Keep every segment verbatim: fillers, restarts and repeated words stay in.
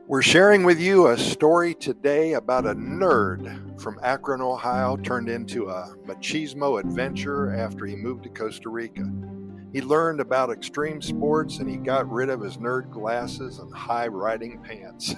We're sharing with you a story today about a nerd from Akron, Ohio, turned into a machismo adventurer after he moved to Costa Rica. He learned about extreme sports and he got rid of his nerd glasses and high riding pants.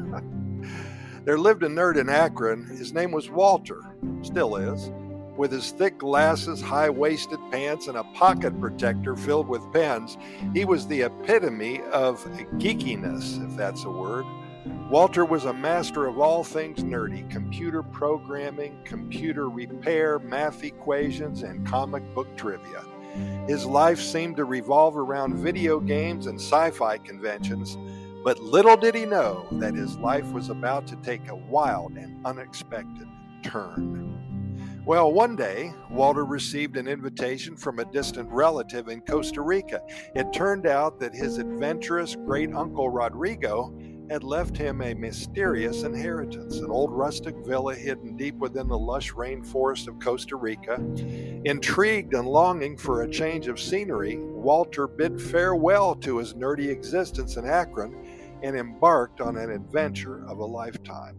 There lived a nerd in Akron. His name was Walter, still is. With his thick glasses, high-waisted pants, and a pocket protector filled with pens, he was the epitome of geekiness, if that's a word. Walter was a master of all things nerdy: computer programming, computer repair, math equations, and comic book trivia. His life seemed to revolve around video games and sci-fi conventions, but little did he know that his life was about to take a wild and unexpected turn. Well, one day, Walter received an invitation from a distant relative in Costa Rica. It turned out that his adventurous great-uncle Rodrigo had left him a mysterious inheritance, an old rustic villa hidden deep within the lush rainforest of Costa Rica. Intrigued and longing for a change of scenery, Walter bid farewell to his nerdy existence in Akron and embarked on an adventure of a lifetime.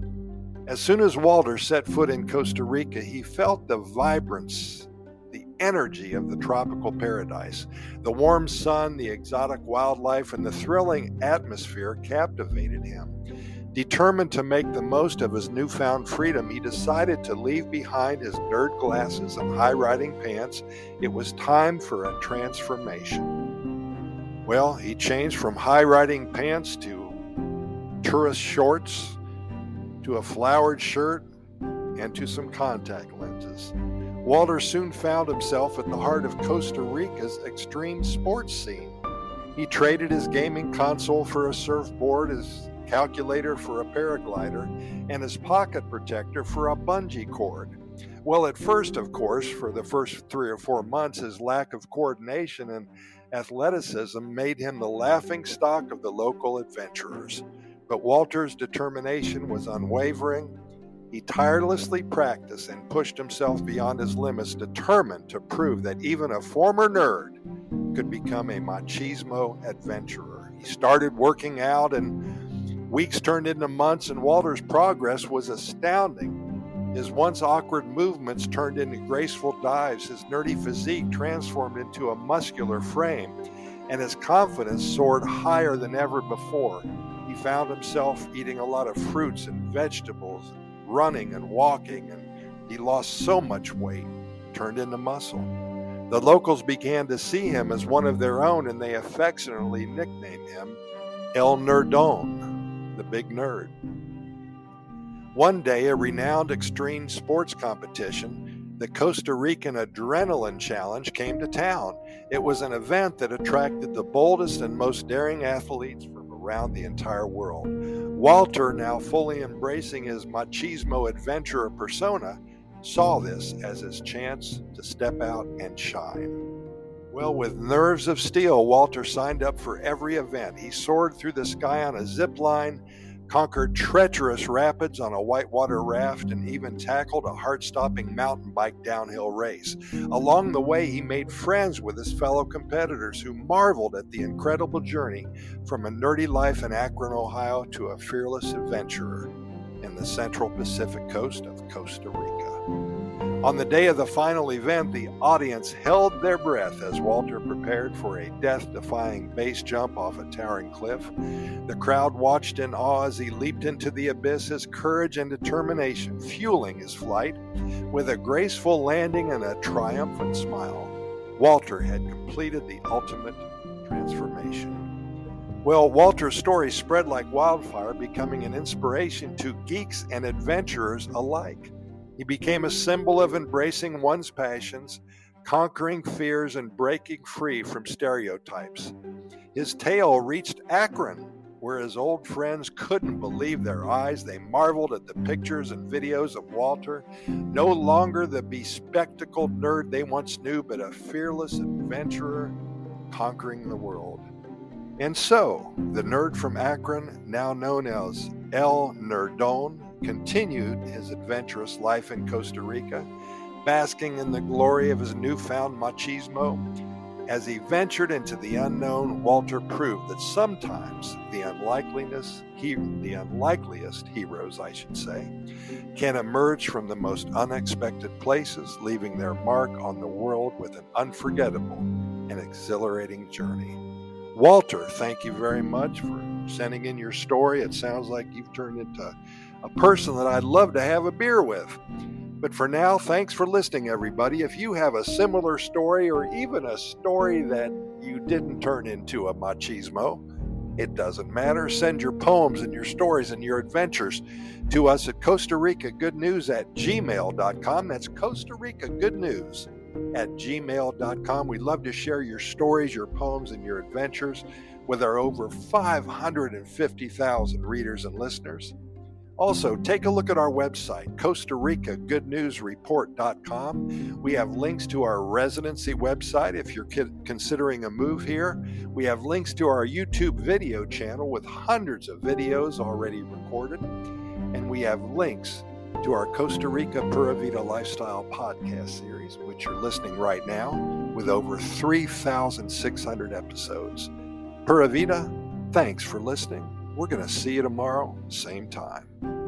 As soon as Walter set foot in Costa Rica, he felt the vibrance, the energy of the tropical paradise. The warm sun, the exotic wildlife, and the thrilling atmosphere captivated him. Determined to make the most of his newfound freedom, he decided to leave behind his nerd glasses and high-riding pants. It was time for a transformation. Well, he changed from high-riding pants to tourist shorts, to a flowered shirt, and to some contact lenses. Walter soon found himself at the heart of Costa Rica's extreme sports scene. He traded his gaming console for a surfboard, his calculator for a paraglider, and his pocket protector for a bungee cord. Well, at first, of course, for the first three or four months, his lack of coordination and athleticism made him the laughingstock of the local adventurers. But Walter's determination was unwavering. He tirelessly practiced and pushed himself beyond his limits, determined to prove that even a former nerd could become a machismo adventurer. He started working out, and weeks turned into months, and Walter's progress was astounding. His once awkward movements turned into graceful dives, his nerdy physique transformed into a muscular frame, and his confidence soared higher than ever before. He found himself eating a lot of fruits and vegetables, running and walking, and he lost so much weight, turned into muscle. The locals began to see him as one of their own, and they affectionately nicknamed him El Nerdón, the big nerd. One day, a renowned extreme sports competition, the Costa Rican Adrenaline Challenge, came to town. It was an event that attracted the boldest and most daring athletes from around the entire world. Walter, now fully embracing his machismo adventurer persona, saw this as his chance to step out and shine. Well, with nerves of steel, Walter signed up for every event. He soared through the sky on a zip line, conquered treacherous rapids on a whitewater raft, and even tackled a heart-stopping mountain bike downhill race. Along the way, he made friends with his fellow competitors who marveled at the incredible journey from a nerdy life in Akron, Ohio, to a fearless adventurer in the central Pacific coast of Costa Rica. On the day of the final event, the audience held their breath as Walter prepared for a death-defying base jump off a towering cliff. The crowd watched in awe as he leaped into the abyss, his courage and determination fueling his flight. With a graceful landing and a triumphant smile, Walter had completed the ultimate transformation. Well, Walter's story spread like wildfire, becoming an inspiration to geeks and adventurers alike. He became a symbol of embracing one's passions, conquering fears, and breaking free from stereotypes. His tale reached Akron, where his old friends couldn't believe their eyes. They marveled at the pictures and videos of Walter, no longer the bespectacled nerd they once knew, but a fearless adventurer conquering the world. And so, the nerd from Akron, now known as El Nerdón, continued his adventurous life in Costa Rica, basking in the glory of his newfound machismo. As he ventured into the unknown, Walter proved that sometimes the unlikeliness, he, the unlikeliest heroes, I should say, can emerge from the most unexpected places, leaving their mark on the world with an unforgettable and exhilarating journey. Walter, thank you very much for sending in your story. It sounds like you've turned into a person that I'd love to have a beer with. But for now, thanks for listening, everybody. If you have a similar story or even a story that you didn't turn into a machismo, it doesn't matter. Send your poems and your stories and your adventures to us at Costa Rica Good News at gmail dot com. That's Costa Rica Good News at gmail dot com. We'd love to share your stories, your poems, and your adventures with our over five hundred fifty thousand readers and listeners. Also, take a look at our website, Costa Rica Good News Report dot com. We have links to our residency website if you're considering a move here. We have links to our YouTube video channel with hundreds of videos already recorded. And we have links to our Costa Rica Pura Vida Lifestyle podcast series, which you're listening right now, with over three thousand six hundred episodes. Pura Vida, thanks for listening. We're going to see you tomorrow, same time.